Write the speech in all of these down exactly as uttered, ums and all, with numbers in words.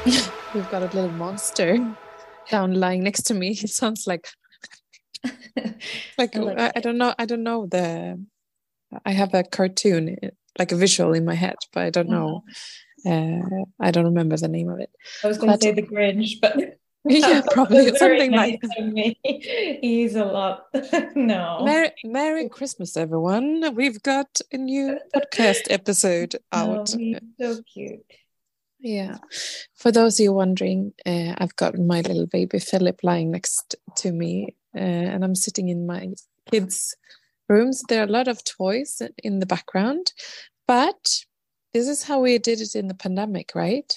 We've got a little monster down lying next to me. It sounds like like I like I, I don't know. I don't know the. I have a cartoon, eh, like a visual in my head, but I don't know. uh, Uh, I don't remember the name of it. I was going to But say the Grinch, but yeah, that probably was very something like nice of me. He's a lot. No. Merry, Merry Christmas, everyone. We've got a new podcast episode out. No, he's so cute. Yeah. For those of you wondering, uh, I've got my little baby Philip lying next to me, uh, and I'm sitting in my kids' rooms. There are a lot of toys in the background, but this is how we did it in the pandemic, right?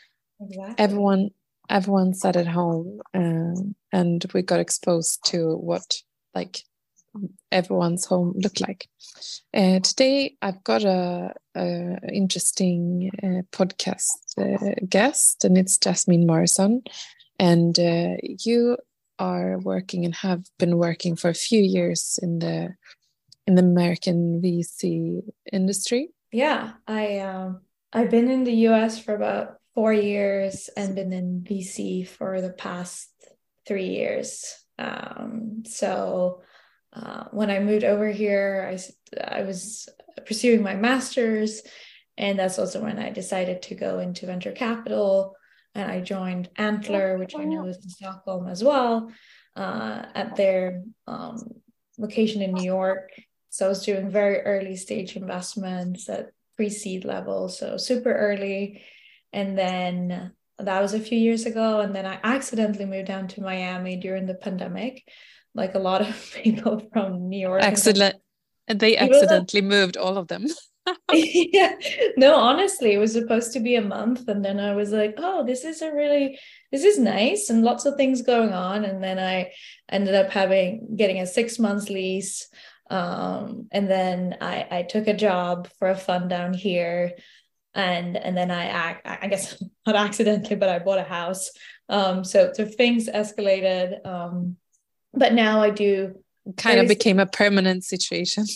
Exactly. Everyone, everyone sat at home, um, and we got exposed to what like everyone's home looked like. Uh, today, I've got a, a interesting uh, podcast uh, guest, and it's Jasmine Morrison. And uh, you are working and have been working for a few years in the in the American V C industry. Yeah, I um I've been in the U S for about four years and been in V C for the past three years. Um, so uh, when I moved over here, I I was pursuing my master's, and that's also when I decided to go into venture capital, and I joined Antler, which I know is in Stockholm as well, uh, at their um, location in New York. So I was doing very early stage investments at pre-seed level, so super early. And then that was a few years ago. And then I accidentally moved down to Miami during the pandemic, like a lot of people from New York and San Accident, they Diego. accidentally moved all of them. Yeah, no, honestly, it was supposed to be a month. And then I was like, oh, this is a really, this is nice and lots of things going on. And then I ended up having, getting a six months lease. Um, and then I, I took a job for a fund down here. And, and then I, I, I guess not accidentally, but I bought a house. Um, so, so things escalated. Um, but now I do Kind of early. became a permanent situation.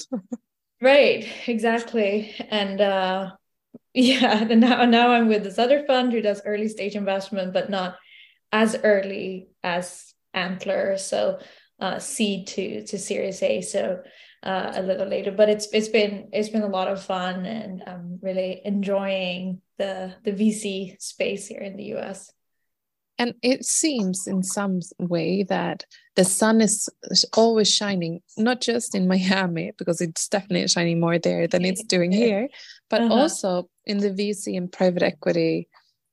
Right, exactly. And uh yeah, and now now I'm with this other fund who does early stage investment, but not as early as Antler. So uh seed to to Series A. So uh a little later. But it's it's been it's been a lot of fun, and I'm really enjoying the the V C space here in the U S. And it seems in some way that the sun is always shining, not just in Miami, because it's definitely shining more there than it's doing here, but Uh-huh. also in the V C and private equity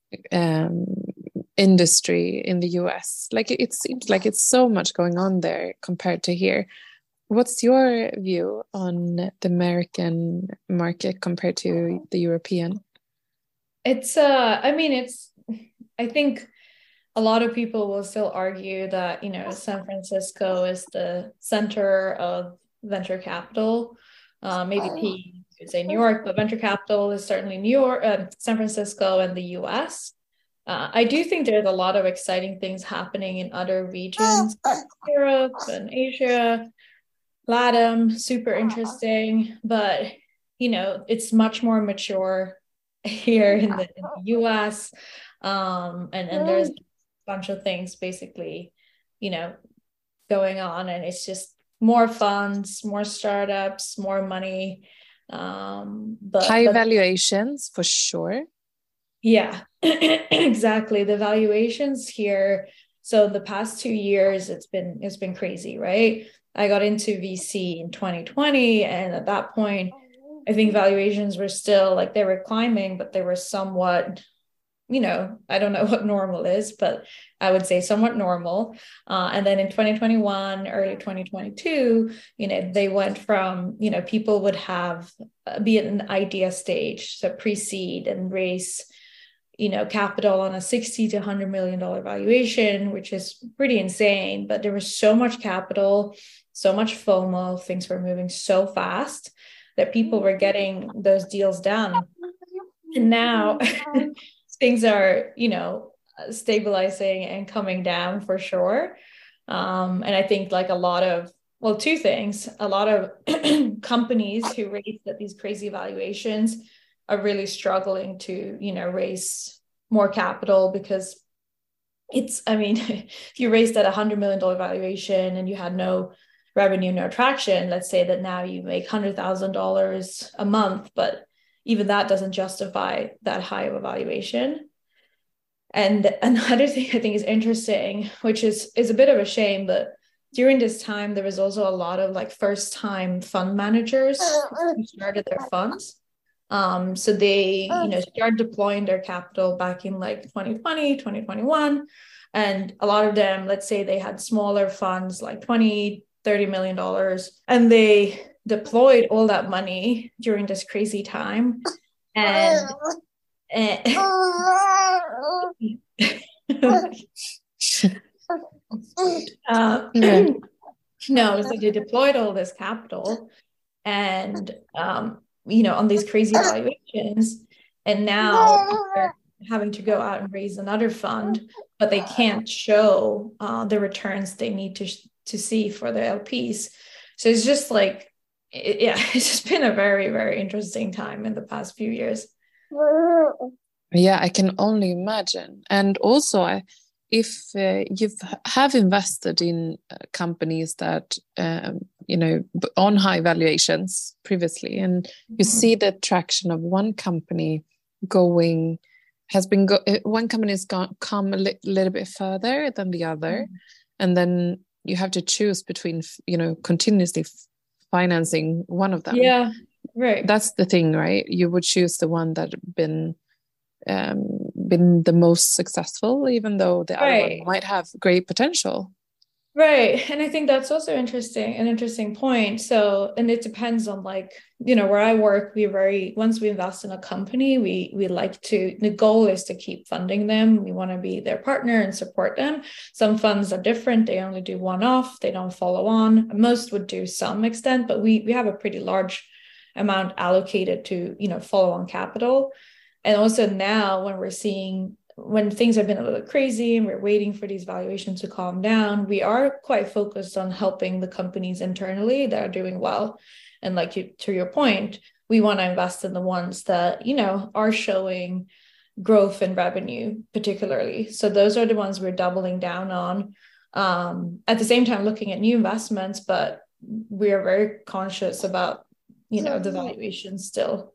um, industry in the U S. Like it seems like it's so much going on there compared to here. What's your view on the American market compared to the European? It's uh I mean it's I think a lot of people will still argue that, you know, San Francisco is the center of venture capital. Uh, maybe P could say New York, but venture capital is certainly New York, uh, San Francisco, and the U S. Uh, I do think there's a lot of exciting things happening in other regions, Europe and Asia, LATAM, super interesting, but you know, it's much more mature here in the, in the U S. Um, and, and there's a bunch of things basically, you know, going on, and it's just more funds, more startups, more money. Um, but High but valuations for sure. yeah, exactly. The valuations here. So the past two years, it's been it's been crazy, right? I got into V C in twenty twenty, and at that point, I think valuations were still like they were climbing, but they were somewhat, you know, I don't know what normal is, but I would say somewhat normal. Uh, and then in twenty twenty-one, early twenty twenty-two, you know, they went from, you know, people would have uh, be at an idea stage, so pre-seed and raise, you know, capital on a sixty to one hundred million dollar valuation, which is pretty insane. But there was so much capital, so much FOMO, things were moving so fast that people were getting those deals done. And now things are, you know, stabilizing and coming down for sure. Um, and I think like a lot of, well, two things, a lot of companies who raise at these crazy valuations are really struggling to, you know, raise more capital because it's, I mean, if you raised at a hundred million dollar valuation and you had no revenue, no traction, let's say that now you make hundred thousand dollars a month, but even that doesn't justify that high of a valuation. And another thing I think is interesting, which is is a bit of a shame, but during this time there was also a lot of like first time fund managers who started their funds. Um, so they, you know, started deploying their capital back in like twenty twenty, twenty twenty-one. And a lot of them, let's say they had smaller funds like twenty, thirty million dollars, and they deployed all that money during this crazy time. And, and uh, yeah. No, so they deployed all this capital and um you know, on these crazy valuations, and now they're having to go out and raise another fund, but they can't show uh, the returns they need to to see for the L Ps. So it's just like, it, yeah, it's just been a very, very interesting time in the past few years. Yeah, I can only imagine. And also, I, if uh, you have invested in uh, companies that um, you know, on high valuations previously, and you mm-hmm. see the traction of one company going has been go one company has gone come a li little bit further than the other, mm-hmm. and then you have to choose between, you know, continuously financing one of them. Yeah, right. That's the thing, right? You would choose the one that been um been the most successful, even though the right. other one might have great potential. Right. And I think that's also interesting, an interesting point. So, and it depends on like, you know, where I work, we very, once we invest in a company, we, we like to, the goal is to keep funding them. We want to be their partner and support them. Some funds are different. They only do one off. They don't follow on. Most would do some extent, but we, we have a pretty large amount allocated to, you know, follow on capital. And also now when we're seeing, when things have been a little crazy and we're waiting for these valuations to calm down, we are quite focused on helping the companies internally that are doing well. And like you, to your point, we want to invest in the ones that, you know, are showing growth and revenue particularly. So those are the ones we're doubling down on. Um, at the same time, looking at new investments, but we are very conscious about, you know, the valuation still.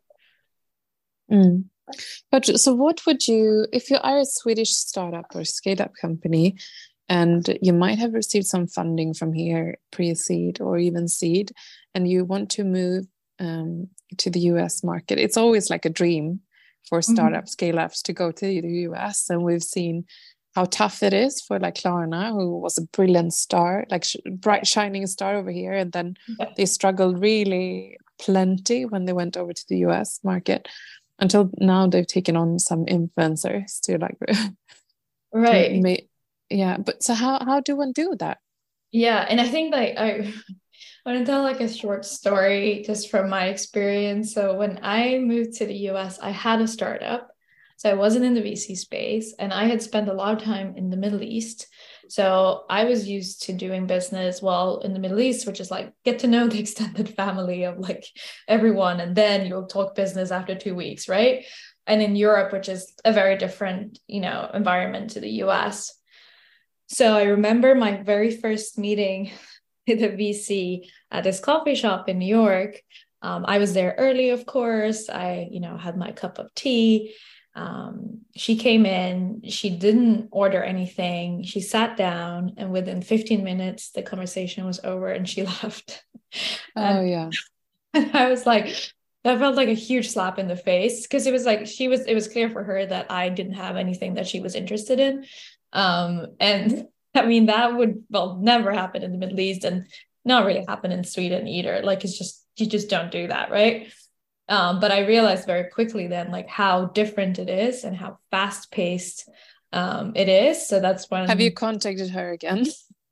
Mm. But so what would you, if you are a Swedish startup or scale-up company and you might have received some funding from here, pre-seed or even seed, and you want to move um, to the U S market, it's always like a dream for startup mm-hmm. scale-ups to go to the U S. And we've seen how tough it is for like Klarna, who was a brilliant star, like sh bright shining star over here. And then yeah. they struggled really plenty when they went over to the U S market. Until now, they've taken on some influencers to like, right? To make, yeah, but so how how do one do that? Yeah, and I think like I want to tell like a short story just from my experience. So when I moved to the U S, I had a startup, so I wasn't in the V C space, and I had spent a lot of time in the Middle East. So I was used to doing business well in the Middle East, which is like get to know the extended family of like everyone, and then you'll talk business after two weeks, right? And in Europe, which is a very different, you know, environment to the U S. So I remember my very first meeting with a V C at this coffee shop in New York. Um, I was there early, of course. I, you know, had my cup of tea. Um, she came in, she didn't order anything. She sat down, and within fifteen minutes, the conversation was over and she left. Oh, and, yeah. And I was like, that felt like a huge slap in the face, because it was like, she was, it was clear for her that I didn't have anything that she was interested in. Um, and I mean, that would, well, never happen in the Middle East and not really happen in Sweden either. Like, it's just, you just don't do that, right? Um, but I realized very quickly then, like, how different it is and how fast paced um, it is. So that's when. Have you contacted her again?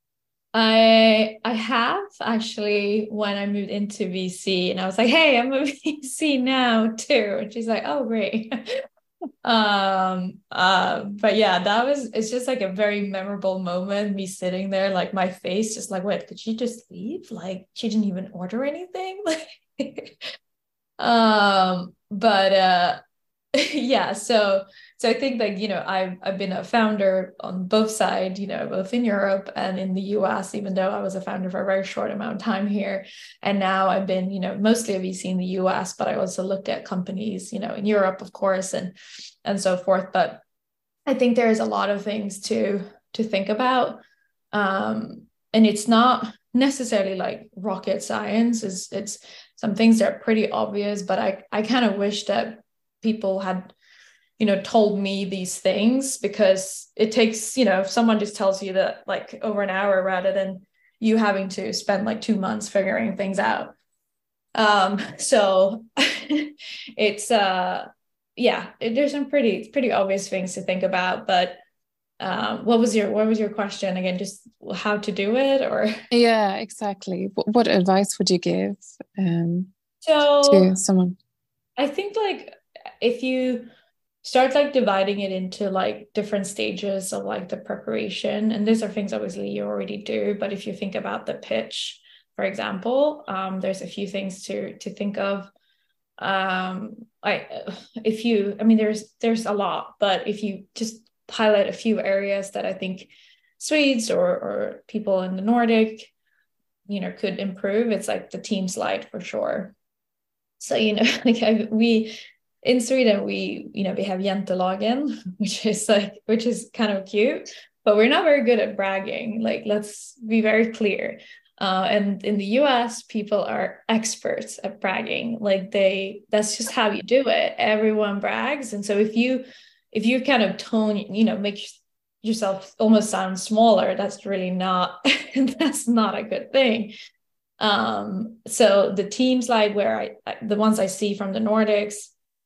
I I have actually, when I moved into V C, and I was like, hey, I'm a V C now too. And she's like, oh, great. um uh but yeah, that was, it's just like a very memorable moment, me sitting there, like my face just like, wait, did she just leave? Like, she didn't even order anything. Like um but uh yeah, so so I think like, you know, I've, I've been a founder on both sides, you know, both in Europe and in the U S, even though I was a founder for a very short amount of time here. And now I've been, you know, mostly a V C in the U S, but I also looked at companies, you know, in Europe, of course, and, and so forth. But I think there's a lot of things to, to think about. Um, and it's not necessarily like rocket science. It's, it's some things that are pretty obvious, but I, I kind of wish that people had, you know, told me these things, because it takes, you know, if someone just tells you that like over an hour rather than you having to spend like two months figuring things out. Um, so it's, uh, yeah, it, there's some pretty, pretty obvious things to think about, but um, what was your, what was your question again? Just how to do it, or? Yeah, exactly. What, what advice would you give um, So to someone? I think like if you start like dividing it into like different stages of like the preparation, and these are things obviously you already do, but if you think about the pitch, for example, um, there's a few things to to think of. Um, I if you, I mean, there's there's a lot, but if you just highlight a few areas that I think Swedes or or people in the Nordic, you know, could improve, it's like the team slide for sure. So, you know, like I, we in Sweden, we, you know, we have Jantelagen, which is like, which is kind of cute, but we're not very good at bragging. Like, let's be very clear. Uh, and in the U S, people are experts at bragging. Like they, that's just how you do it. Everyone brags. And so if you, if you kind of tone, you know, make yourself almost sound smaller, that's really not, that's not a good thing. Um, so the teams like where I, the ones I see from the Nordics,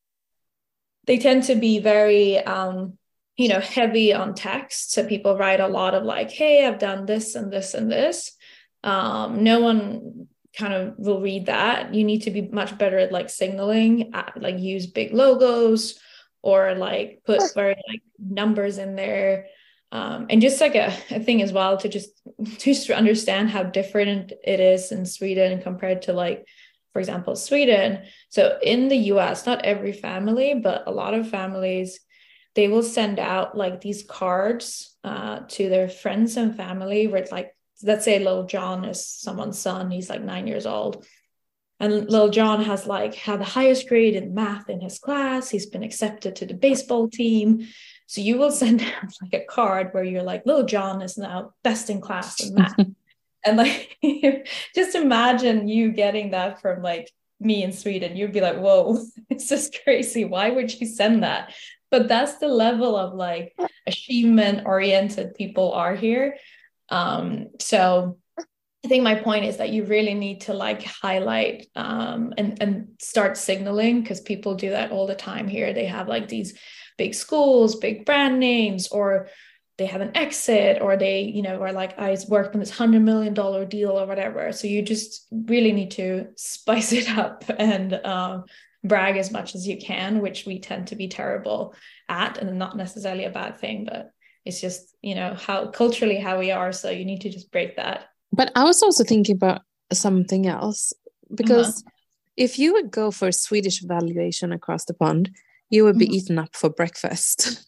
they tend to be very, um, you know, heavy on text. So people write a lot of like, hey, I've done this and this and this. Um, no one kind of will read that. You need to be much better at like signaling, at, like use big logos or like put very like numbers in there. Um, and just like a, a thing as well to just, just to understand how different it is in Sweden compared to like, for example, Sweden. So in the U S, not every family, but a lot of families, they will send out like these cards uh, to their friends and family where it's like, let's say little John is someone's son, he's like nine years old. And little John has like had the highest grade in math in his class. He's been accepted to the baseball team. So you will send out like a card where you're like, little John is now best in class in math. And like, just imagine you getting that from like me in Sweden. You'd be like, whoa, it's just crazy. Why would you send that? But that's the level of like achievement oriented people are here. Um, so I think my point is that you really need to like highlight um, and, and start signaling, because people do that all the time here. They have like these big schools, big brand names, or they have an exit, or they, you know, are like, I worked on this hundred million dollar deal or whatever. So you just really need to spice it up and um, brag as much as you can, which we tend to be terrible at, and not necessarily a bad thing, but it's just, you know, how culturally how we are. So you need to just break that. But I was also thinking about something else, because uh-huh. if you would go for a Swedish valuation across the pond, you would be mm-hmm. eaten up for breakfast.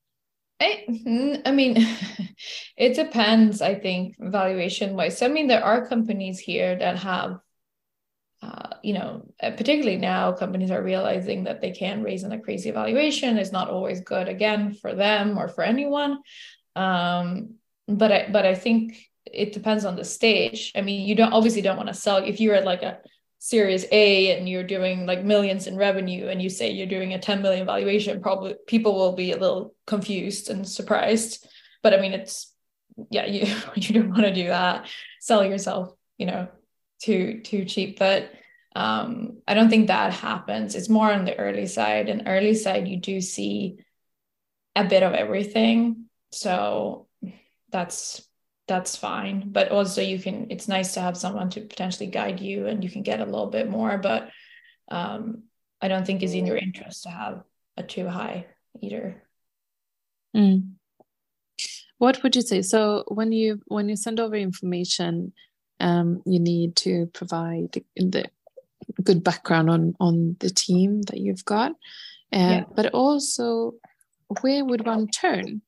I, I mean, it depends, I think, valuation wise. So, I mean, there are companies here that have, uh, you know, particularly now companies are realizing that they can raise in a crazy valuation. It's not always good, again, for them or for anyone. Um, but I, but I think it depends on the stage. I mean, you don't obviously don't want to sell if you're at like a Series A and you're doing like millions in revenue and you say you're doing a ten million valuation, probably people will be a little confused and surprised. But I mean, it's, yeah, you, you don't want to do that, sell yourself, you know, too, too cheap. But um, I don't think that happens. It's more on the early side, and early side, you do see a bit of everything. So that's, that's fine. But also you can, it's nice to have someone to potentially guide you, and you can get a little bit more, but um, I don't think it's in your interest to have a too high either. Mm. What would you say? So when you, when you send over information, um, you need to provide the good background on, on the team that you've got. Uh, yeah. But also where would one turn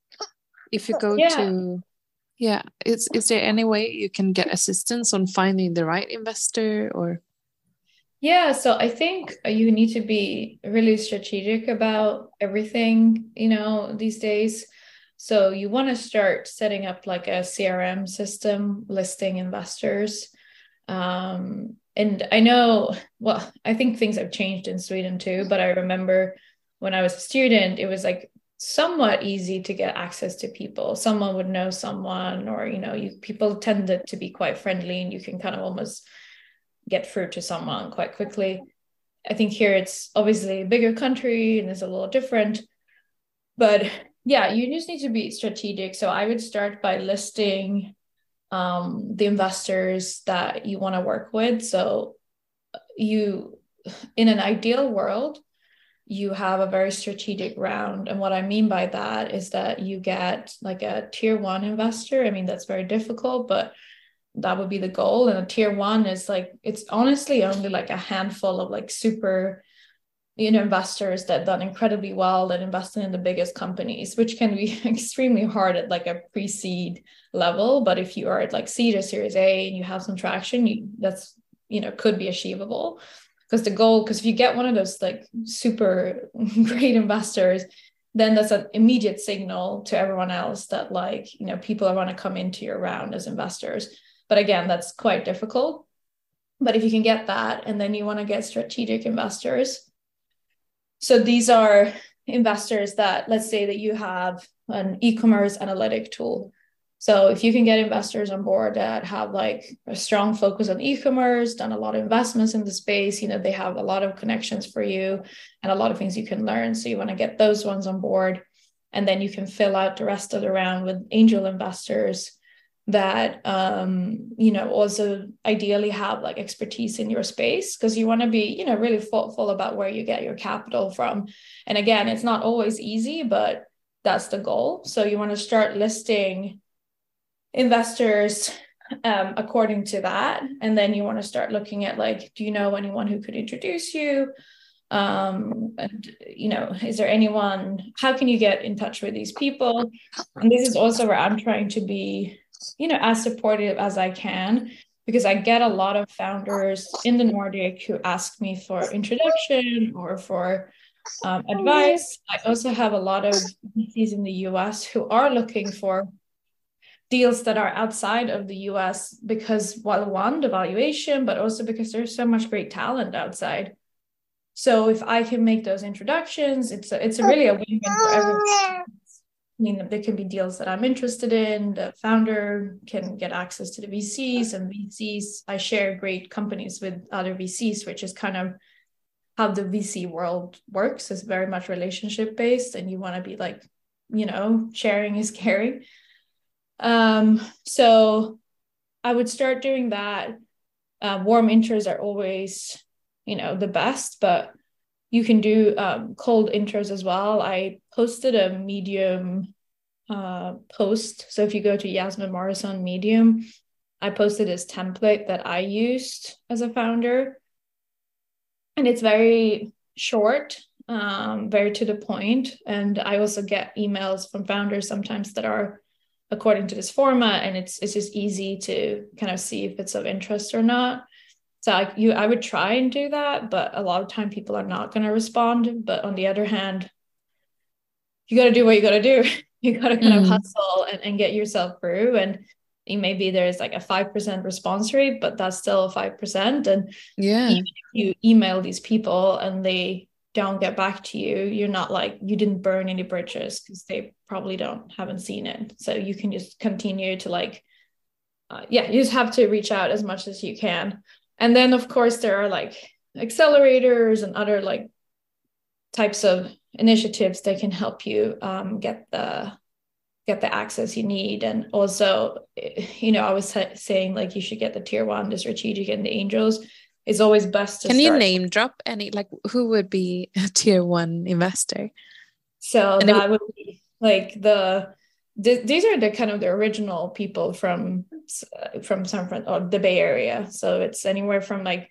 if you go Yeah. to, yeah, is, is there any way you can get assistance on finding the right investor or? Yeah, so I think you need to be really strategic about everything, you know, these days. So you want to start setting up like a C R M system, listing investors. Um, and I know, well, I think things have changed in Sweden too, but I remember when I was a student, it was like somewhat easy to get access to people. Someone would know someone, or, you know, you people tended to be quite friendly and you can kind of almost get through to someone quite quickly. I think here it's obviously a bigger country and it's a little different, but yeah, you just need to be strategic. So I would start by listing um, the investors that you want to work with. So you, in an ideal world, you have a very strategic round. And what I mean by that is that you get like a tier one investor. I mean, that's very difficult, but that would be the goal. And a tier one is like, it's honestly only like a handful of like super, you know, investors that done incredibly well, that invested in the biggest companies, which can be extremely hard at like a pre-seed level. But if you are at like seed or series A and you have some traction, you, that's, you know, could be achievable. Because the goal, because if you get one of those like super great investors, then that's an immediate signal to everyone else that like, you know, people are want to come into your round as investors. But again, that's quite difficult. But if you can get that, and then you want to get strategic investors. So these are investors that, let's say that you have an e-commerce analytic tool. So if you can get investors on board that have like a strong focus on e-commerce, done a lot of investments in the space, you know, they have a lot of connections for you and a lot of things you can learn. So you want to get those ones on board. And then you can fill out the rest of the round with angel investors that, um, you know, also ideally have like expertise in your space, because you want to be, you know, really thoughtful about where you get your capital from. And again, it's not always easy, but that's the goal. So you want to start listing investors um, according to that. And then you want to start looking at like, do you know anyone who could introduce you? Um, and, you know, is there anyone, how can you get in touch with these people? And this is also where I'm trying to be, you know, as supportive as I can, because I get a lot of founders in the Nordic who ask me for introduction or for um, advice. I also have a lot of V Cs in the U S who are looking for deals that are outside of the U S because, well, one, the valuation, but also because there's so much great talent outside. So if I can make those introductions, it's a, it's a really a win-win for everyone. I mean, there can be deals that I'm interested in. The founder can get access to the V Cs, and V Cs, I share great companies with other V Cs, which is kind of how the V C world works. It's very much relationship based, and you want to be like, you know, sharing is caring. Um, so I would start doing that. Uh, warm intros are always, you know, the best, but you can do um, cold intros as well. I posted a Medium uh, post. So if you go to Yasmin Morris on Medium, I posted this template that I used as a founder. And it's very short, um, very to the point. And I also get emails from founders sometimes that are according to this format, and it's it's just easy to kind of see if it's of interest or not. So I, you, I would try and do that, but a lot of time people are not going to respond. But on the other hand, you got to do what you got to do. You got to kind mm. of hustle and, and get yourself through. And maybe there's like a five percent response rate, but that's still five percent. And yeah, even if you email these people and they don't get back to you, you're not like, you didn't burn any bridges, because they probably don't, haven't seen it. So you can just continue to like, uh, yeah, you just have to reach out as much as you can. And then, of course, there are like accelerators and other like types of initiatives that can help you um, get the get the access you need. And also, you know, I was saying like you should get the tier one, the strategic, and the angels. It's always best to Can start. you name drop any, like who would be a tier one investor? So and that would be like the, the these are the kind of the original people from from San Fran or the Bay Area. So it's anywhere from like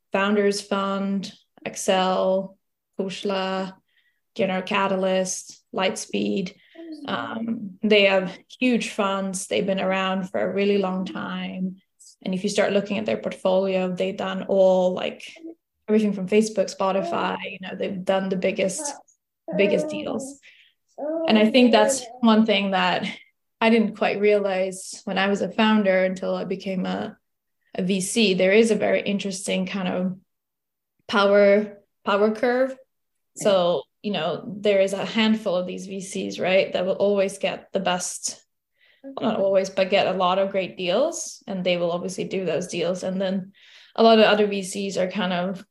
Founders Fund, Excel, Kushla, General Catalyst, Lightspeed. Um, they have huge funds. They've been around for a really long time. And if you start looking at their portfolio, they've done all like everything from Facebook, Spotify, you know, they've done the biggest, biggest deals. And I think that's one thing that I didn't quite realize when I was a founder until I became a, a V C. There is a very interesting kind of power, power curve. So, you know, there is a handful of these V Cs, right, that will always get the best, well, not always, but get a lot of great deals, and they will obviously do those deals. And then a lot of other V Cs are kind of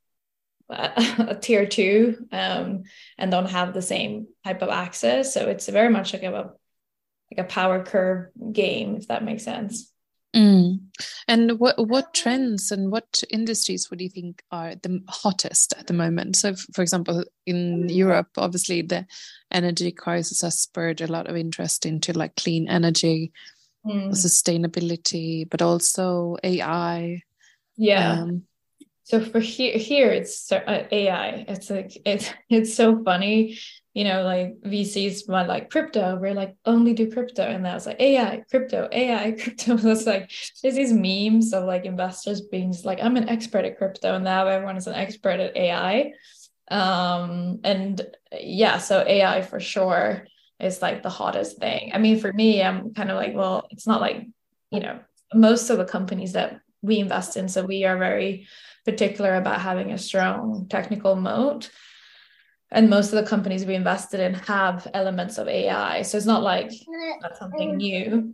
a tier two um, and don't have the same type of access. So it's very much like a like a power curve game, if that makes sense. Mm. And what what trends and what industries would you think are the hottest at the moment? So, f- for example, in Europe, obviously the energy crisis has spurred a lot of interest into like clean energy, Mm. sustainability, but also A I. Yeah. Um, So for here, here it's so- uh, A I. It's like it's it's so funny, you know, like V Cs want like crypto. We're like only do crypto, and that's like A I, crypto, A I, crypto. It's like there's these memes of like investors being just like, I'm an expert at crypto, and now everyone is an expert at A I. Um, and yeah, so A I for sure is like the hottest thing. I mean, for me, I'm kind of like, well, it's not like, you know, most of the companies that we invest in, so we are very particular about having a strong technical moat. And most of the companies we invested in have elements of A I. So it's not like that's something new.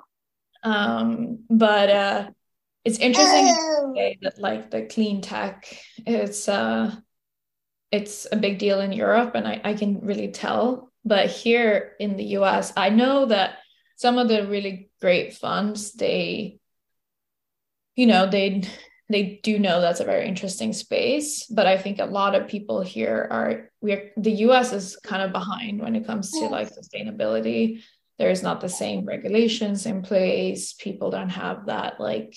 Um, but uh, it's interesting to say that like the clean tech, it's uh, it's a big deal in Europe, and I, I can really tell. But here in the U S, I know that some of the really great funds, they, you know, they they do know that's a very interesting space. But I think a lot of people here are we're the U S is kind of behind when it comes to like sustainability. There's not the same regulations in place. People don't have that like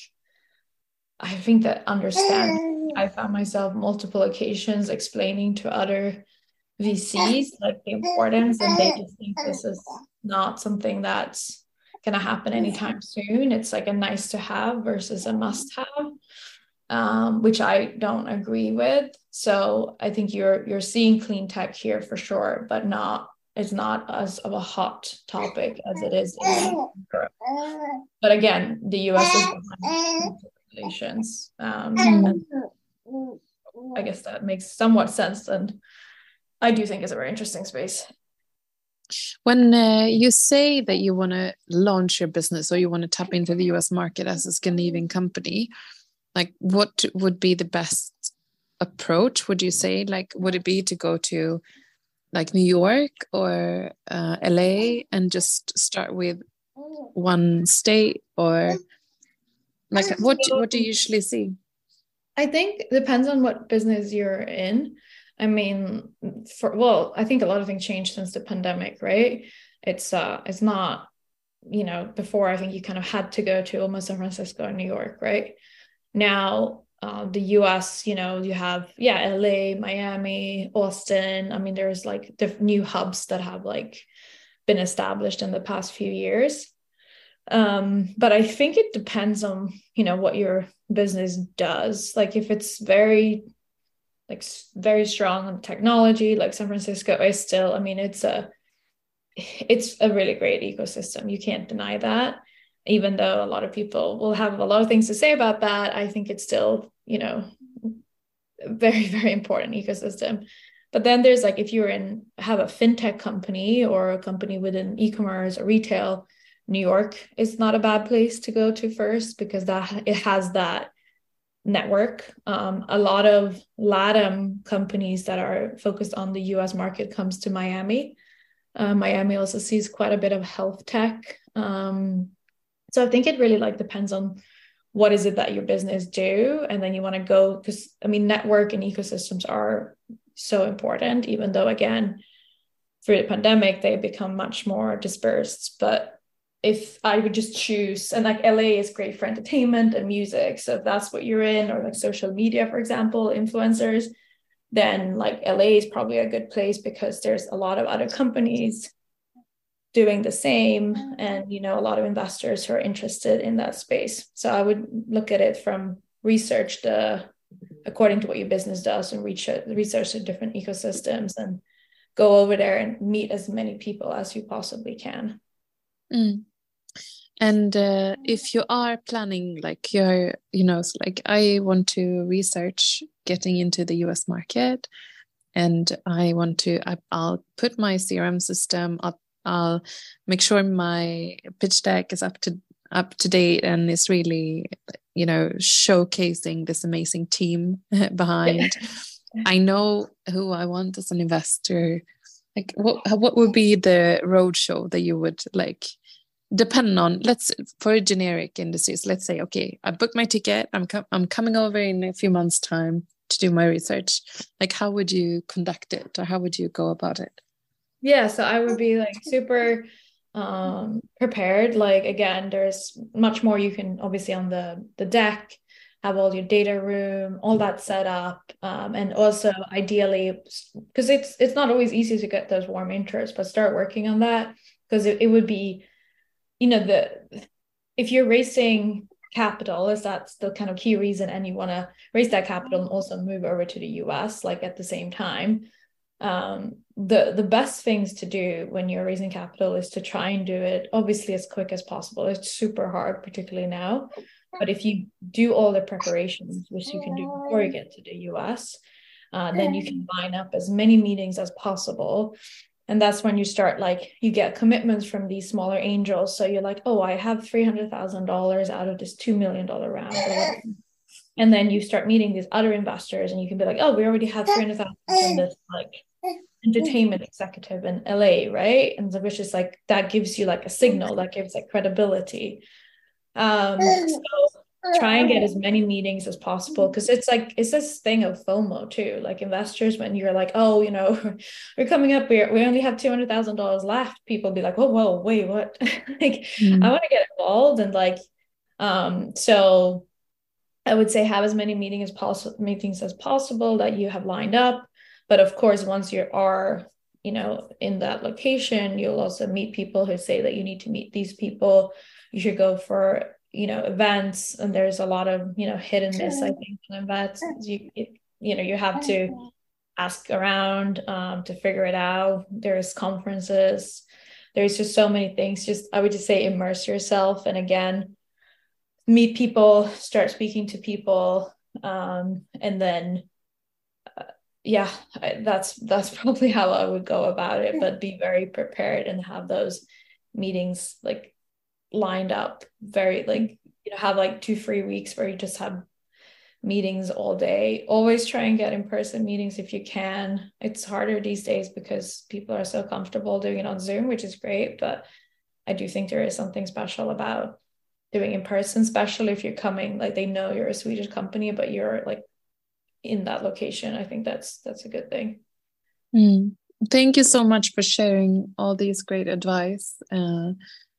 I think that understand. I found myself multiple occasions explaining to other V Cs like the importance, and they just think this is not something that's going to happen anytime soon. It's like a nice to have versus a must have, um, which I don't agree with. So I think you're you're seeing clean tech here for sure, but not it's not as of a hot topic as it is in Europe. But again, the U S is behind regulations. Um, and I guess that makes somewhat sense, and I do think it's a very interesting space. when uh, you say that you want to launch your business or you want to tap into the U S market as a Scandinavian company, like what would be the best approach? Would you say, like, would it be to go to like New York or uh, L A and just start with one state, or like what what do you usually see? I think it depends on what business you're in. I mean, for well, I think a lot of things changed since the pandemic, right? It's uh it's not, you know, before I think you kind of had to go to almost San Francisco and New York, right? Now, uh, the U S, you know, you have, yeah, L A, Miami, Austin. I mean, there's like diff- new hubs that have like been established in the past few years. Um, but I think it depends on, you know, what your business does. Like if it's very, like very strong on technology, like San Francisco is still, I mean, it's a, it's a really great ecosystem. You can't deny that. Even though a lot of people will have a lot of things to say about that, I think it's still, you know, a very, very important ecosystem. But then there's like, if you're in, have a fintech company or a company within e-commerce or retail, New York is not a bad place to go to first, because that it has that network. Um, a lot of LATAM companies that are focused on the U S market comes to Miami. Uh, Miami also sees quite a bit of health tech. Um, so I think it really like depends on what is it that your business do, and then you want to go, because I mean, network and ecosystems are so important, even though again, through the pandemic, they become much more dispersed. But if I would just choose, and like L A is great for entertainment and music, so if that's what you're in, or like social media, for example, influencers, then like L A is probably a good place because there's a lot of other companies doing the same, and you know, a lot of investors who are interested in that space. So I would look at it from research the according to what your business does, and research research the different ecosystems, and go over there and meet as many people as you possibly can. Mm. And uh, if you are planning, like you're, you know, like I want to research getting into the U S market, and I want to, I, I'll put my C R M system up. I'll make sure my pitch deck is up to up to date and is really, you know, showcasing this amazing team behind. I know who I want as an investor. Like, what what would be the roadshow that you would like? Depending on, let's for generic industries, let's say, okay, I booked my ticket. I'm com- I'm coming over in a few months' time to do my research. Like, how would you conduct it, or how would you go about it? Yeah, so I would be like super um prepared. Like again, there's much more you can obviously on the the deck, have all your data room, all that set up, um, and also ideally, because it's it's not always easy to get those warm intros, but start working on that, because it, it would be, you know, the if you're raising capital, is that's the kind of key reason, and you want to raise that capital and also move over to the U S like at the same time. Um, the the best things to do when you're raising capital is to try and do it obviously as quick as possible. It's super hard, particularly now, but if you do all the preparations, which you can do before you get to the U S, uh, then you can line up as many meetings as possible. And that's when you start, like, you get commitments from these smaller angels. So you're like, oh, I have three hundred thousand dollars out of this two million dollars round. And then you start meeting these other investors, and you can be like, oh, we already have three hundred thousand dollars from this, like, entertainment executive in L A, right? And which is like, that gives you like a signal, that gives like credibility. Um, so try and get as many meetings as possible, because it's like, it's this thing of FOMO too. Like investors, when you're like, oh, you know, we're coming up, we we only have two hundred thousand dollars left, people be like, oh, whoa, wait, what? Like, mm. I want to get involved. And like, um, so I would say have as many meetings as possible, meetings as possible that you have lined up. But of course, once you are, you know, in that location, you'll also meet people who say that you need to meet these people. You should go for, you know, events. And there's a lot of, you know, hit and miss, I think, in events. You, you know, you have to ask around um, to figure it out. There's conferences. There's just so many things. Just, I would just say immerse yourself. And again, meet people, start speaking to people. Um, and then yeah, that's that's probably how I would go about it, but be very prepared and have those meetings like lined up very, like, you know, have like two, three weeks where you just have meetings all day. Always try and get in-person meetings if you can. It's harder these days because people are so comfortable doing it on Zoom, which is great, but I do think there is something special about doing in person, especially if you're coming, like, they know you're a Swedish company, but you're like in that location. I think that's that's a good thing. Mm. Thank you so much for sharing all these great advice uh,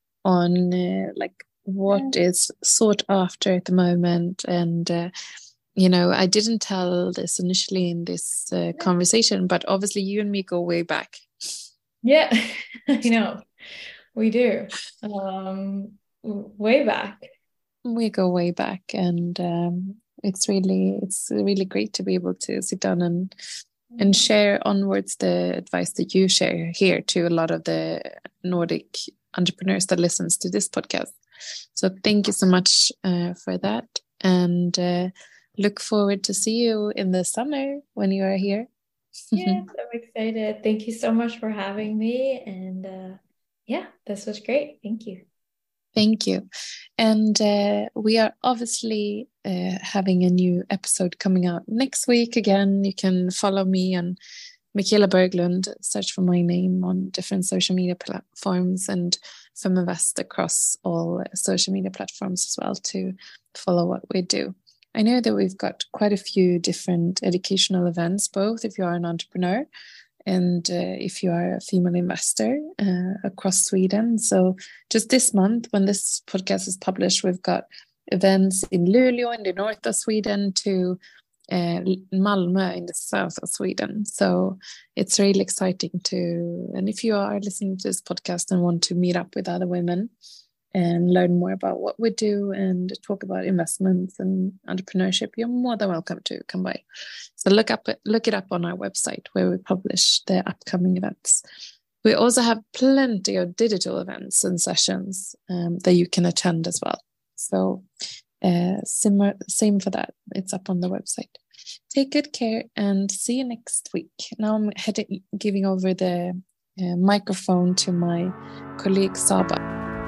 on uh, like what is sought after at the moment. And uh, you know, I didn't tell this initially in this uh, conversation, but obviously you and me go way back. Yeah, I know, we do. Um, way back. We go way back, and um, it's really it's really great to be able to sit down and and share onwards the advice that you share here to a lot of the Nordic entrepreneurs that listens to this podcast. So thank you so much uh, for that, and uh, look forward to see you in the summer when you are here. Yes, I'm excited. Thank you so much for having me, and uh, yeah, this was great. Thank you. Thank you. And uh, we are obviously uh, having a new episode coming out next week. Again, you can follow me on Michaela Berglund, search for my name on different social media platforms, and Feminvest across all social media platforms as well to follow what we do. I know that we've got quite a few different educational events, both if you are an entrepreneur and uh, if you are a female investor uh, across Sweden. So just this month, when this podcast is published, we've got events in Luleå in the north of Sweden to uh, Malmö in the south of Sweden. So it's really exciting to, and if you are listening to this podcast and want to meet up with other women and learn more about what we do and talk about investments and entrepreneurship, you're more than welcome to come by. So look up, look it up on our website where we publish the upcoming events. We also have plenty of digital events and sessions um, that you can attend as well. So uh, similar, same for that. It's up on the website. Take good care and see you next week. Now I'm heading, giving over the uh, microphone to my colleague Saba.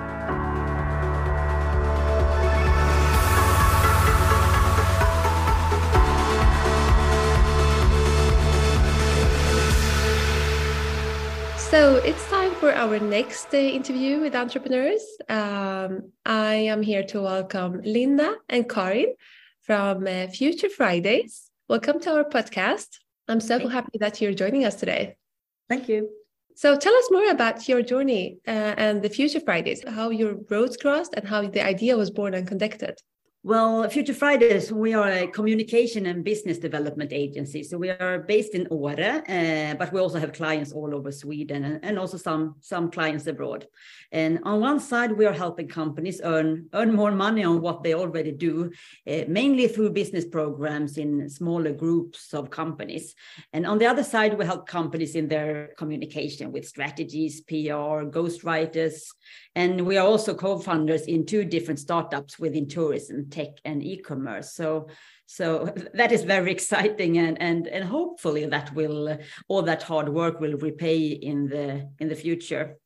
So it's time for our next uh, interview with entrepreneurs. Um, I am here to welcome Linda and Karin from uh, Future Fridays. Welcome to our podcast. I'm so Thank happy you. that you're joining us today. Thank you. So tell us more about your journey uh, and the Future Fridays, how your roads crossed and how the idea was born and conducted. Well, Future Fridays, we are a communication and business development agency. So we are based in Åre, uh, but we also have clients all over Sweden and, and also some, some clients abroad. And on one side, we are helping companies earn, earn more money on what they already do, uh, mainly through business programs in smaller groups of companies. And on the other side, we help companies in their communication with strategies, P R, ghostwriters. And we are also co-founders in two different startups within tourism, tech and e-commerce. So, so that is very exciting, and and and hopefully that will all that hard work will repay in the in the future.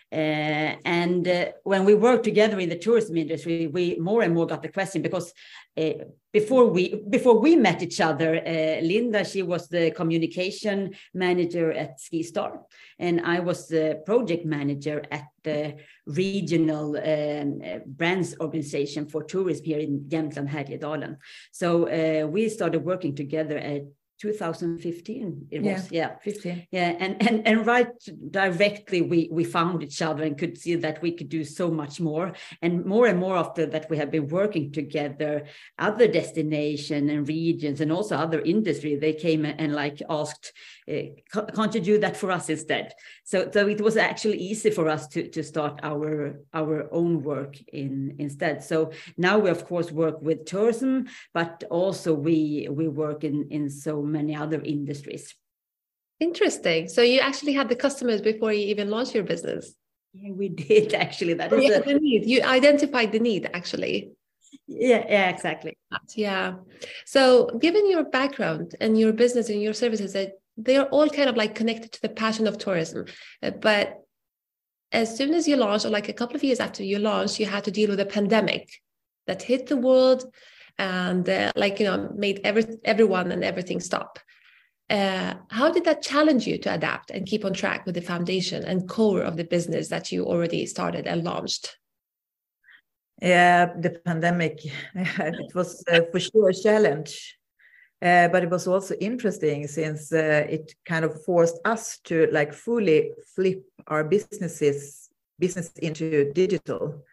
Uh, and uh, when we work together in the tourism industry, we more and more got the question because uh, before we before we met each other, uh, Linda, she was the communication manager at SkiStar, and I was the project manager at the regional um, uh, brands organization for tourism here in Jämtland Härjedalen. So uh, we started working together at two thousand fifteen it was yeah, yeah. fifteen yeah and and and right directly we we found each other and could see that we could do so much more, and more and more after that we have been working together. Other destination and regions and also other industry, they came and like asked, uh, can't you do that for us instead? So so it was actually easy for us to to start our our own work in instead. So now we of course work with tourism, but also we we work in in so many other industries. Interesting. So you actually had the customers before you even launched your business? Yeah, we did actually. That is yeah, a... the need. You identified the need actually. Yeah, yeah, exactly. Yeah. So given your background and your business and your services, that they are all kind of like connected to the passion of tourism. But as soon as you launched, or like a couple of years after you launched, you had to deal with a pandemic that hit the world and uh, like, you know, made every, everyone and everything stop. Uh, how did that challenge you to adapt and keep on track with the foundation and core of the business that you already started and launched? Yeah, the pandemic, it was uh, for sure a challenge, uh, but it was also interesting since uh, it kind of forced us to like fully flip our businesses business into digital,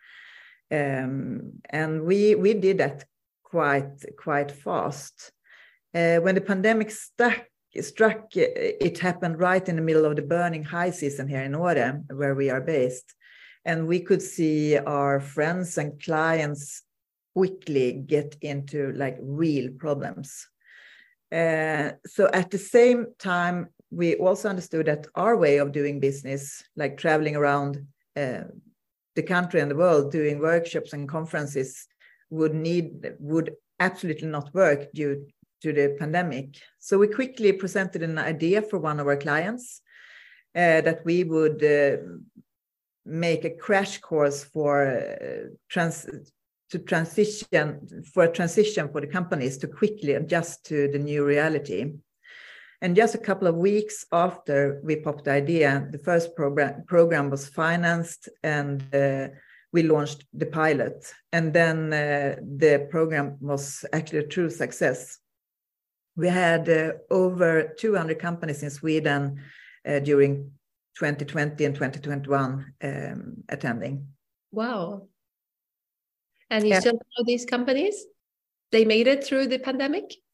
um, and we we did that quite quite fast. Uh, when the pandemic stuck, struck, it happened right in the middle of the burning high season here in Åre, where we are based. And we could see our friends and clients quickly get into like real problems. Uh, so at the same time, we also understood that our way of doing business, like traveling around uh, the country and the world, doing workshops and conferences, would need would absolutely not work due to the pandemic. So we quickly presented an idea for one of our clients uh, that we would uh, make a crash course for uh, trans to transition for a transition for the companies to quickly adjust to the new reality. And just a couple of weeks after we popped the idea, the first program program was financed, and uh, we launched the pilot. And then uh, the program was actually a true success. We had uh, over two hundred companies in Sweden uh, during twenty twenty and twenty twenty-one um, attending. Wow. And you Yeah. still know these companies? They made it through the pandemic?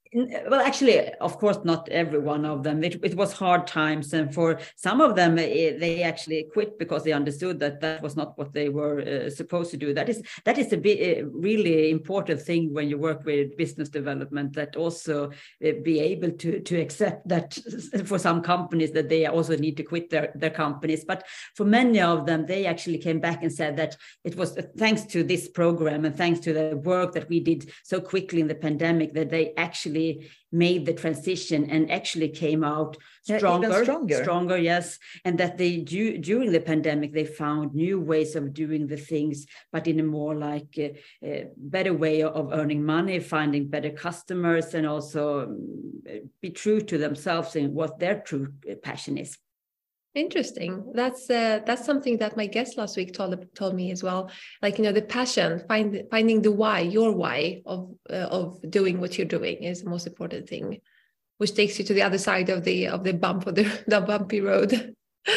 Well, actually, of course, not every one of them. It, it was hard times. And for some of them, it, they actually quit because they understood that that was not what they were uh, supposed to do. That is that is a, bit, a really important thing when you work with business development, that also uh, be able to, to accept that for some companies that they also need to quit their, their companies. But for many of them, they actually came back and said that it was thanks to this program and thanks to the work that we did so quickly in the pandemic that they actually made the transition and actually came out stronger, yeah, stronger, stronger, yes. And that they do, during the pandemic, they found new ways of doing the things, but in a more like a, a better way of earning money, finding better customers, and also um, be true to themselves and what their true passion is. Interesting. That's uh, that's something that my guest last week told told me as well. Like, you know, the passion, find finding the why, your why of uh, of doing what you're doing is the most important thing, which takes you to the other side of the of the bump of the the bumpy road.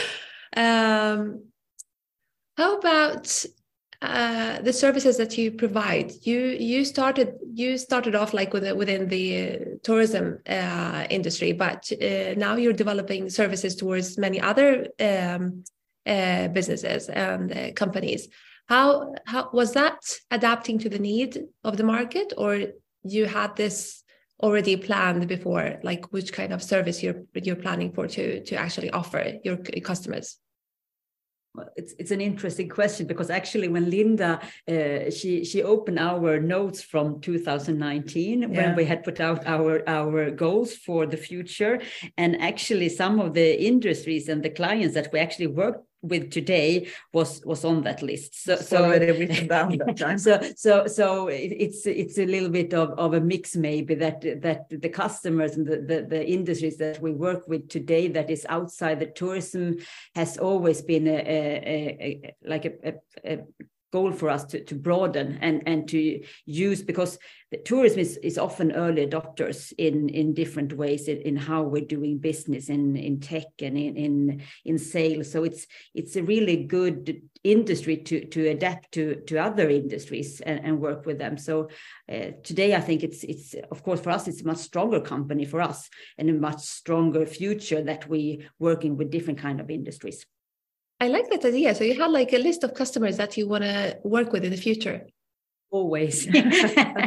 um, how about uh, the services that you provide? You you started you started off like within within the tourism uh, industry, but uh, now you're developing services towards many other um, uh, businesses and uh, companies. How how was that adapting to the need of the market, or you had this already planned before? Like, which kind of service you're you're planning for to to actually offer your customers? Well, it's it's an interesting question, because actually when Linda uh, she she opened our notes from two thousand nineteen, yeah, when we had put out our our goals for the future, and actually some of the industries and the clients that we actually worked with today was was on that list. So so already written down that time. so so so it's it's a little bit of, of a mix, maybe, that that the customers and the, the the industries that we work with today that is outside the tourism has always been a, a, a like a, a, a goal for us to, to broaden and, and to use, because the tourism is, is often early adopters in, in different ways in, in how we're doing business in, in tech and in, in, in sales. So it's it's a really good industry to, to adapt to, to other industries and, and work with them. So uh, today, I think it's, it's of course, for us, it's a much stronger company for us and a much stronger future that we working with different kind of industries. I like that idea. So you had like a list of customers that you want to work with in the future. Always. yeah.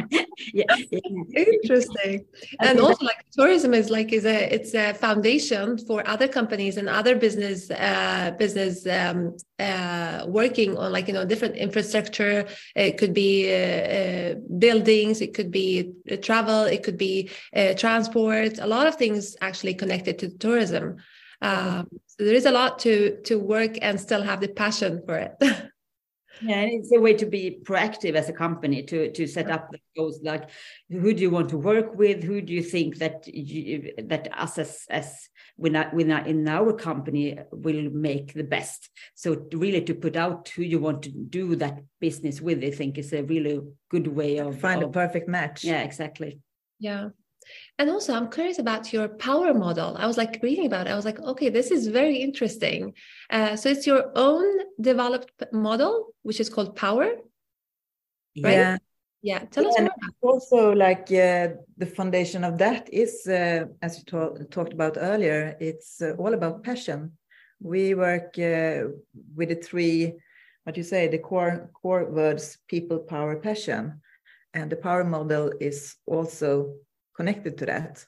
Interesting. And also, like, tourism is like is a it's a foundation for other companies and other business uh, business um, uh, working on, like, you know, different infrastructure. It could be uh, uh, buildings, it could be uh, travel, it could be uh, transport. A lot of things actually connected to tourism. Um, so there is a lot to to work and still have the passion for it. Yeah, and it's a way to be proactive as a company, to to set up the goals, like, who do you want to work with? Who do you think that you, that us as as in our company will make the best? So really to put out who you want to do that business with, I think is a really good way of find of, a perfect match. Yeah, exactly. Yeah. And also, I'm curious about your power model. I was like reading about it. I was like, okay, this is very interesting. Uh, so it's your own developed model, which is called Power, right? Yeah. Yeah. Tell us yeah, more. Also, like uh, the foundation of that is, uh, as you to- talked about earlier, it's uh, all about passion. We work uh, with the three, what you say, the core core words: people, power, passion, and the power model is also connected to that.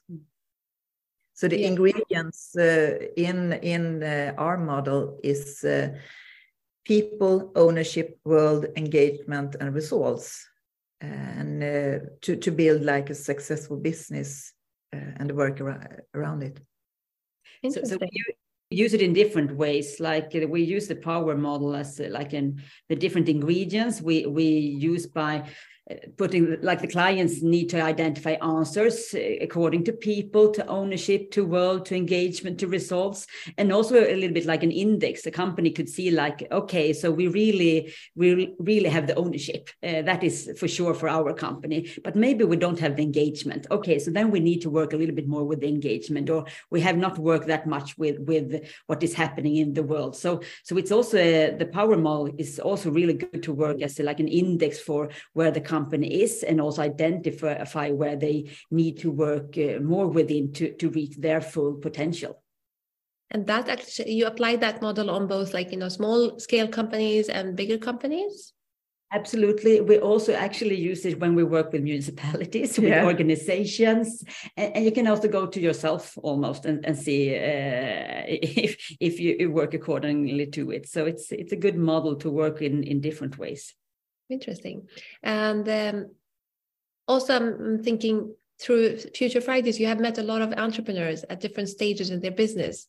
So the yeah. ingredients uh, in in uh, our model is uh, people, ownership, world, engagement, and results, and uh, to to build like a successful business uh, and work around, around it. So, so we use it in different ways. Like uh, we use the power model as uh, like in the different ingredients we we use by putting, like, the clients need to identify answers according to people, to ownership, to world, to engagement, to results, and also a little bit like an index. The company could see, like, okay, so we really, we really have the ownership. Uh, that is for sure for our company, but maybe we don't have the engagement. Okay, so then we need to work a little bit more with the engagement, or we have not worked that much with, with what is happening in the world. So, so it's also, uh, the power model is also really good to work as a, like an index for where the company company is, and also identify where they need to work uh, more within to, to reach their full potential. And that actually, you apply that model on both, like, you know, small scale companies and bigger companies? Absolutely. We also actually use it when we work with municipalities, with yeah. organizations, and, and you can also go to yourself almost and, and see uh, if if you work accordingly to it. So it's it's a good model to work in in different ways. Interesting. And um, also I'm thinking through Future Fridays, you have met a lot of entrepreneurs at different stages in their business.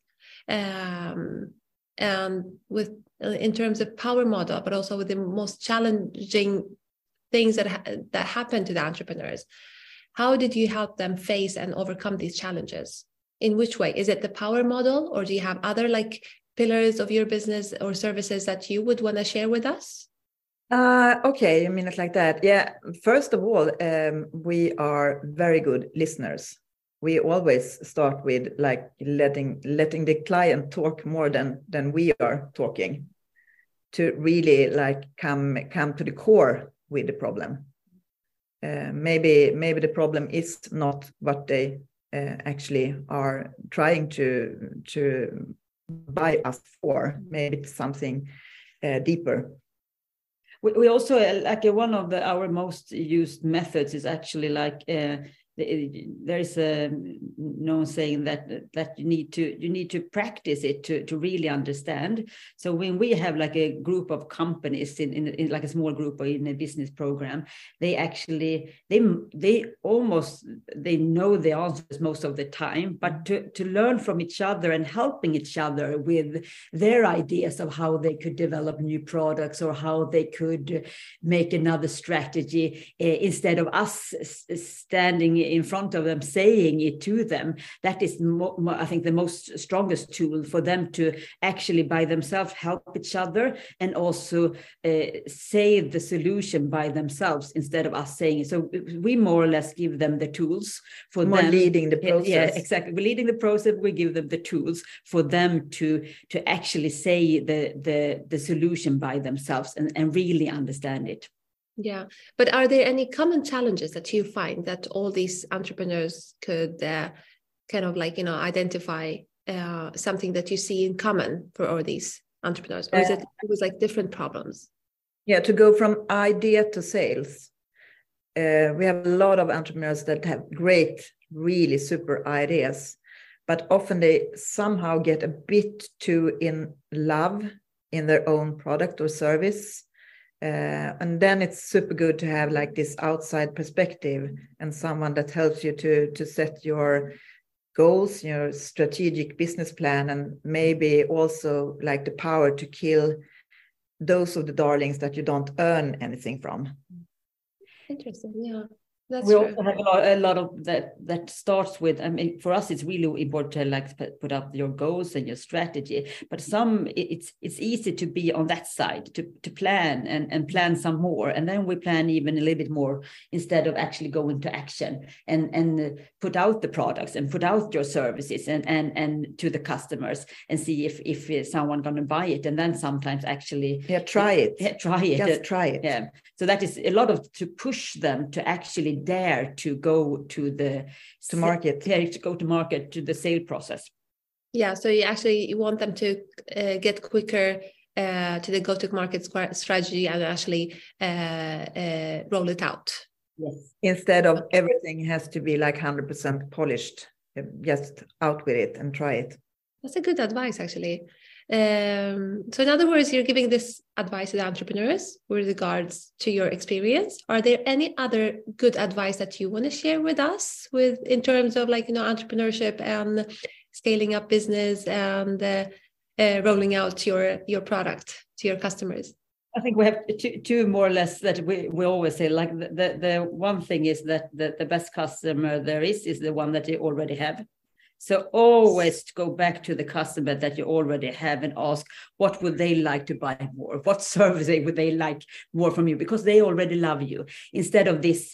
Um, and with in terms of power model, but also with the most challenging things that ha that happen to the entrepreneurs. How did you help them face and overcome these challenges? In which way? Is it the power model, or do you have other like pillars of your business or services that you would want to share with us? Uh, okay, I mean it like that. Yeah. First of all, um, we are very good listeners. We always start with like letting letting the client talk more than than we are talking, to really like come come to the core with the problem. Uh, maybe maybe the problem is not what they uh, actually are trying to to buy us for. Maybe it's something uh, deeper. We, we also uh, like uh, one of the our most used methods is actually like. Uh, There is a known saying that that you need to you need to practice it to to really understand. So when we have like a group of companies in, in, in like a small group or in a business program, they actually they they almost they know the answers most of the time, but to to learn from each other and helping each other with their ideas of how they could develop new products or how they could make another strategy uh, instead of us standing in front of them saying it to them, that is mo- mo- I think the most strongest tool for them to actually by themselves help each other and also uh, say the solution by themselves instead of us saying it. So we more or less give them the tools for more them leading the process. Yeah, exactly. We're leading the process. We give them the tools for them to to actually say the the the solution by themselves and, and really understand it. Yeah, but are there any common challenges that you find that all these entrepreneurs could uh, kind of like, you know, identify uh, something that you see in common for all these entrepreneurs? Or is it, it was like different problems? Yeah, to go from idea to sales. Uh, we have a lot of entrepreneurs that have great, really super ideas, but often they somehow get a bit too in love in their own product or service. Uh, and then it's super good to have like this outside perspective and someone that helps you to to set your goals, your strategic business plan, and maybe also like the power to kill those of the darlings that you don't earn anything from. Interesting. Yeah. That's we true. also have a lot, a lot of that that starts with, I mean, for us, it's really important to like put up your goals and your strategy. But some, it's it's easy to be on that side, to, to plan and, and plan some more. And then we plan even a little bit more instead of actually going to action and, and put out the products and put out your services and, and, and to the customers and see if, if someone going to buy it. And then sometimes actually... Yeah, try it. Yeah, try it. Just try it. Yeah. So that is a lot of to push them to actually dare to go to the to market, yeah, to go to market, to the sale process. Yeah, so you actually you want them to uh, get quicker uh, to the go-to-market strategy and actually uh, uh, roll it out. Yes. Instead of everything has to be like one hundred percent polished, just out with it and try it. That's a good advice, actually. Um, so in other words, you're giving this advice to the entrepreneurs with regards to your experience. Are there any other good advice that you want to share with us with in terms of like, you know, entrepreneurship and scaling up business and uh, uh, rolling out your, your product to your customers? I think we have two, two more or less that we, we always say, like the, the, the one thing is that the, the best customer there is, is the one that you already have. So always go back to the customer that you already have and ask, what would they like to buy more? What service would they like more from you? Because they already love you. Instead of this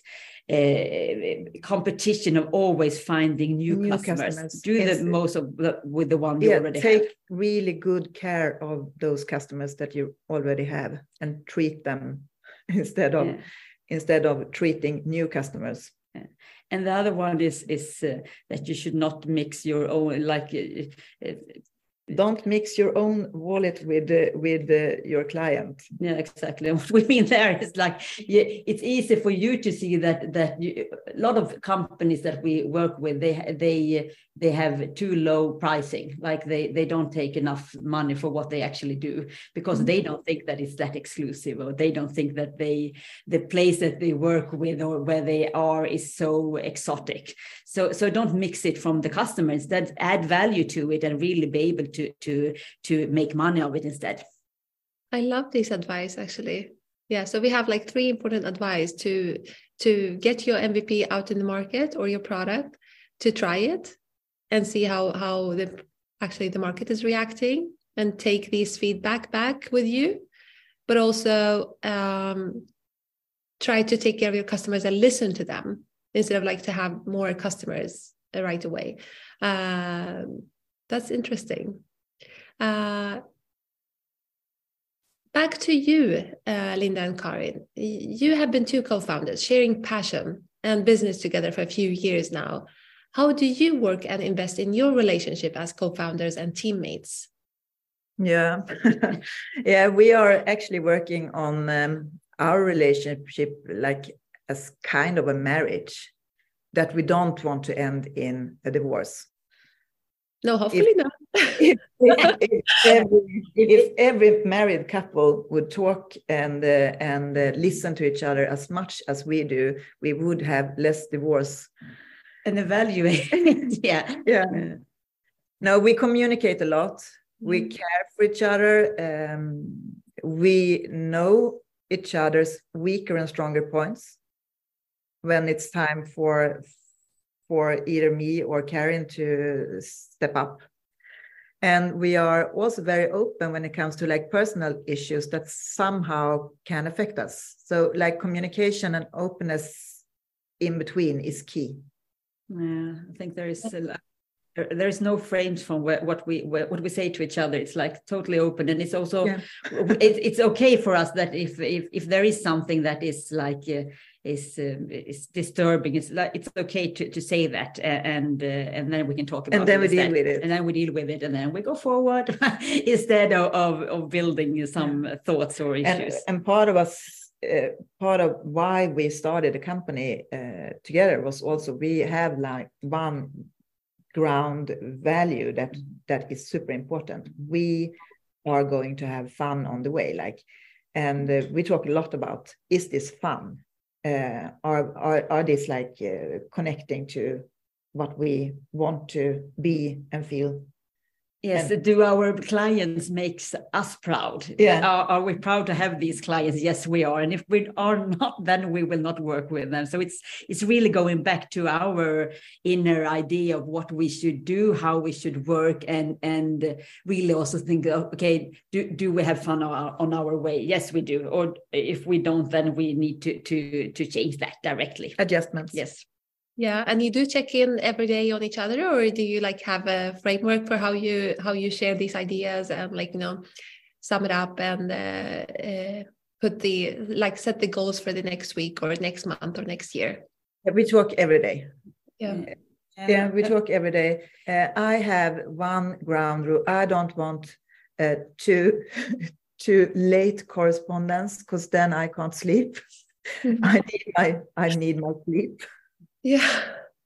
uh, competition of always finding new, new customers. customers. Do the it's, most of the, with the one you yeah, already take have. Take really good care of those customers that you already have and treat them instead of... Yeah. instead of treating new customers. Yeah. And the other one is is uh, that you should not mix your own, like uh, uh, don't mix your own wallet with uh, with uh, your client. Yeah, exactly. And what we mean there is like, yeah, it's easy for you to see that that you, a lot of companies that we work with, they they they have too low pricing. Like they they don't take enough money for what they actually do, because mm-hmm. they don't think that it's that exclusive, or they don't think that they the place that they work with or where they are is so exotic. So so don't mix it from the customers. That add value to it and really be able to to to make money of it instead. I love this advice, actually. Yeah, so we have like three important advice to to get your M V P out in the market or your product, to try it and see how how the actually the market is reacting, and take these feedback back with you, but also um, try to take care of your customers and listen to them instead of like to have more customers right away. Um, that's interesting. Uh, back to you, uh, Linda and Karin. You have been two co-founders sharing passion and business together for a few years now. How do you work and invest in your relationship as co-founders and teammates? Yeah, yeah, we are actually working on um, our relationship like as kind of a marriage, that we don't want to end in a divorce. No, hopefully if, not. if, if, if, every, if every married couple would talk and uh, and uh, listen to each other as much as we do, we would have less divorce. And evaluate. yeah. yeah. No, we communicate a lot. Mm. We care for each other. Um, we know each other's weaker and stronger points when it's time for for either me or Karin to step up. And we are also very open when it comes to like personal issues that somehow can affect us. So like communication and openness in between is key. Yeah, I think there is a, there is no frames from where, what we what we say to each other. It's like totally open, and it's also yeah. it, it's okay for us that if if if there is something that is like uh, is uh, is disturbing, it's like it's okay to, to say that, uh, and uh, and then we can talk about and then it we instead. deal with it, and then we deal with it, and then we go forward instead of, of of building some yeah. thoughts or issues. And, and part of us. Uh, part of why we started the company uh, together was also we have like one ground value that that is super important. We are going to have fun on the way, like, and uh, we talk a lot about, is this fun? Uh, are are are these like uh, connecting to what we want to be and feel? Yes, and do our clients makes us proud? Yeah. Are, are we proud to have these clients? Yes, we are. And if we are not, then we will not work with them. So it's it's really going back to our inner idea of what we should do, how we should work, and and really also think, okay, do, do we have fun on our, on our way? Yes, we do. Or if we don't, then we need to to to change that directly. Adjustments. Yes. Yeah, and you do check in every day on each other, or do you like have a framework for how you how you share these ideas and like, you know, sum it up and uh, uh, put the like set the goals for the next week or next month or next year? Yeah, we talk every day. Yeah, yeah, yeah we talk every day. Uh, I have one ground rule. I don't want uh, to to late correspondence, because then I can't sleep. Mm-hmm. I need my I need my sleep. Yeah.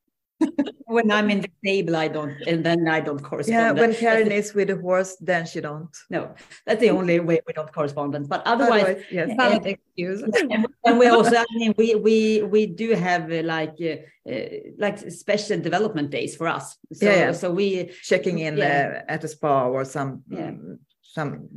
When I'm in the table, I don't, and then I don't correspond. Yeah, when Karin is with the horse, then she don't. No, that's the only way we don't correspond. But otherwise, otherwise yes, valid excuse. And, and we also, I mean, we we we do have uh, like uh, uh, like special development days for us. So, yeah, yeah. so we checking in yeah. uh, at a spa or some yeah. um, some.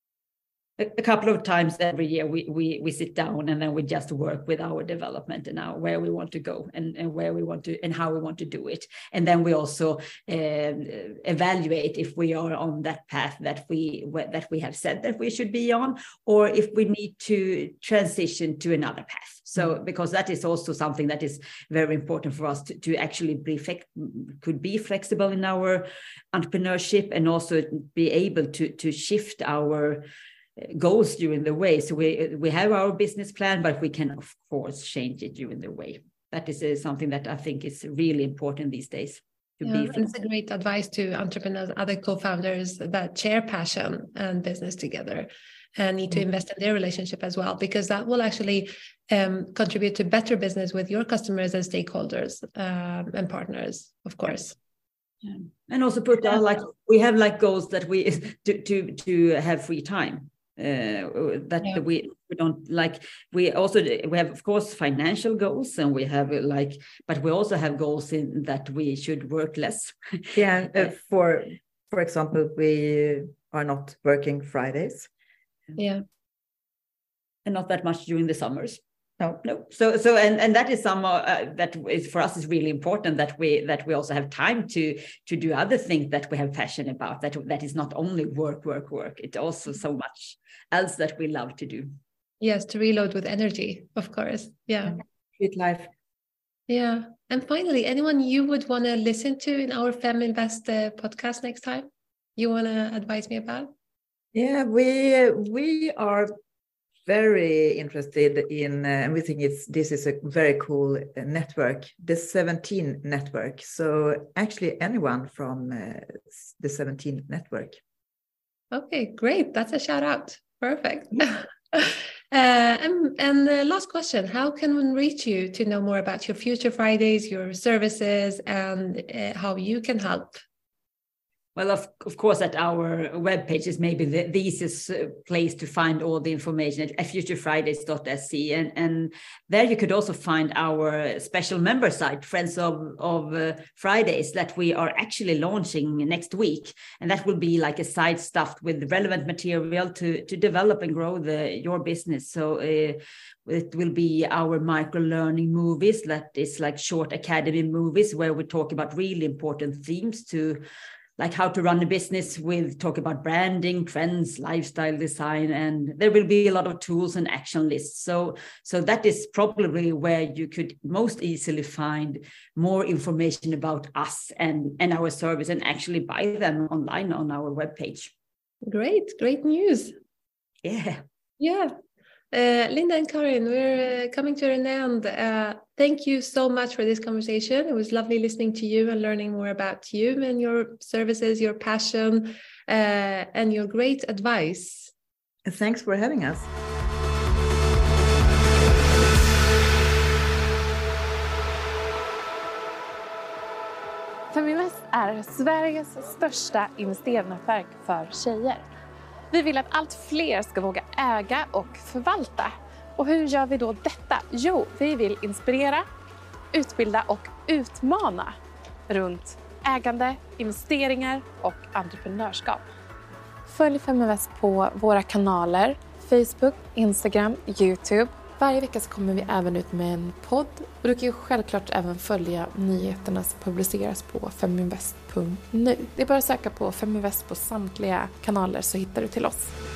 A couple of times every year we, we we sit down and then we just work with our development and now where we want to go and, and where we want to and how we want to do it. And then we also uh, evaluate if we are on that path that we that we have said that we should be on, or if we need to transition to another path. So because that is also something that is very important for us to, to actually be could be flexible in our entrepreneurship and also be able to to shift our goals during the way. So we we have our business plan, but we can of course change it during the way. That is uh, something that I think is really important these days. To yeah, be and it's a great advice to entrepreneurs, other co-founders that share passion and business together, and need to invest in their relationship as well, because that will actually um, contribute to better business with your customers and stakeholders um, and partners, of course. Yeah. And also put yeah. like we have like goals that we to to to have free time. Uh, that yeah. we we don't like. We also we have of course financial goals, and we have like, but we also have goals in that we should work less. Yeah. Uh, for for example, we are not working Fridays. Yeah. And not that much during the summers. No, no. So, so, and and that is some uh, that is for us is really important, that we that we also have time to to do other things that we have passion about. That that is not only work, work, work. It's also so much else that we love to do. Yes, to reload with energy, of course. Yeah. Good life. Yeah. And finally, anyone you would want to listen to in our Feminvest uh, podcast next time? You want to advise me about? Yeah, we we are very interested in, uh, and we think it's this is a very cool uh, network, the seventeen network. So actually, anyone from uh, the seventeen network. Okay, great. That's a shout out. Perfect. uh, and and the last question: how can one reach you to know more about your Future Fridays, your services, and uh, how you can help? Well, of, of course, at our webpage is maybe the, the easiest place to find all the information at future fridays dot s e. And, and there you could also find our special member site, Friends of, of uh, Fridays, that we are actually launching next week. And that will be like a site stuffed with relevant material to, to develop and grow the your business. So uh, it will be our micro-learning movies, that is like short academy movies, where we talk about really important themes to like how to run a business with, talk about branding, trends, lifestyle design, and there will be a lot of tools and action lists. So, so that is probably where you could most easily find more information about us and, and our service, and actually buy them online on our webpage. Great, great news. Yeah. Yeah. Uh, Linda and Karin, we're uh, coming to an end. Uh, thank you so much for this conversation. It was lovely listening to you and learning more about you and your services, your passion, uh, and your great advice. Thanks for having us. Feminvest är Sveriges största investeringsnätverk för tjejer. Vi vill att allt fler ska våga äga och förvalta. Och hur gör vi då detta? Jo, vi vill inspirera, utbilda och utmana runt ägande, investeringar och entreprenörskap. Följ Feminvest på våra kanaler, Facebook, Instagram, YouTube. Varje vecka så kommer vi även ut med en podd. Och du kan ju självklart även följa nyheterna som publiceras på feminvest punkt nu. Det är bara att söka på Feminvest på samtliga kanaler så hittar du till oss.